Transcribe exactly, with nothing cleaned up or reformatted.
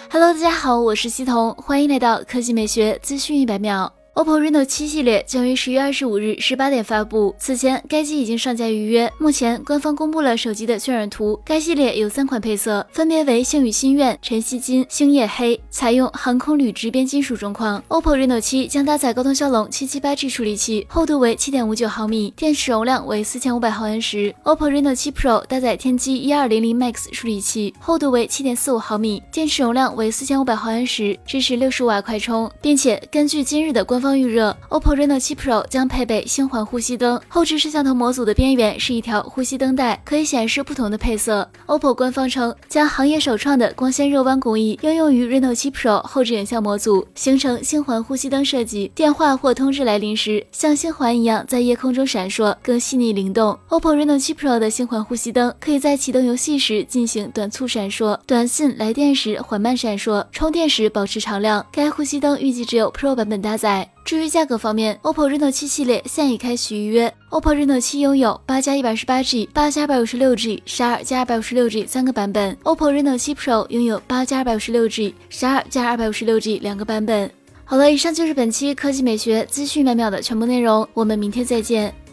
Hello， 大家好，我是西彤，欢迎来到科技美学资讯一百秒。O P P O Reno 七系列将于十月二十五日十八点发布。此前，该机已经上架预约。目前，官方公布了手机的渲染图。该系列有三款配色，分别为星宇心愿、晨曦金、星夜黑，采用航空铝直边金属中框。O P P O Reno 七将搭载高通骁龙七七八 G 处理器，厚度为 七点五九毫米，电池容量为四千五百毫安时。O P P O Reno 七 Pro 搭载天玑一二零零 Max 处理器，厚度为 七点四五毫米，电池容量为四千五百毫安时，支持六十五瓦快充，并且根据今日的官方预热 ，O P P O Reno 七 Pro 将配备星环呼吸灯，后置摄像头模组的边缘是一条呼吸灯带，可以显示不同的配色。O P P O 官方称，将行业首创的光纤热弯工艺应用于 Reno 七 Pro 后置影像模组，形成星环呼吸灯设计。电话或通知来临时，像星环一样在夜空中闪烁，更细腻灵动。O P P O Reno 七 Pro 的星环呼吸灯可以在启动游戏时进行短促闪烁，短信来电时缓慢闪烁，充电时保持常亮。该呼吸灯预计只有 Pro 版本搭载。至于价格方面 ，O P P O Reno 七系列现已开启预约。O P P O Reno 七拥有八加一百二十八 G、八加二百五十六 G、十二加二百五十六 G 三个版本 ，O P P O Reno 七 Pro 拥有八加二百五十六 G、十二加二百五十六 G 两个版本。好了，以上就是本期科技美学资讯百秒的全部内容，我们明天再见。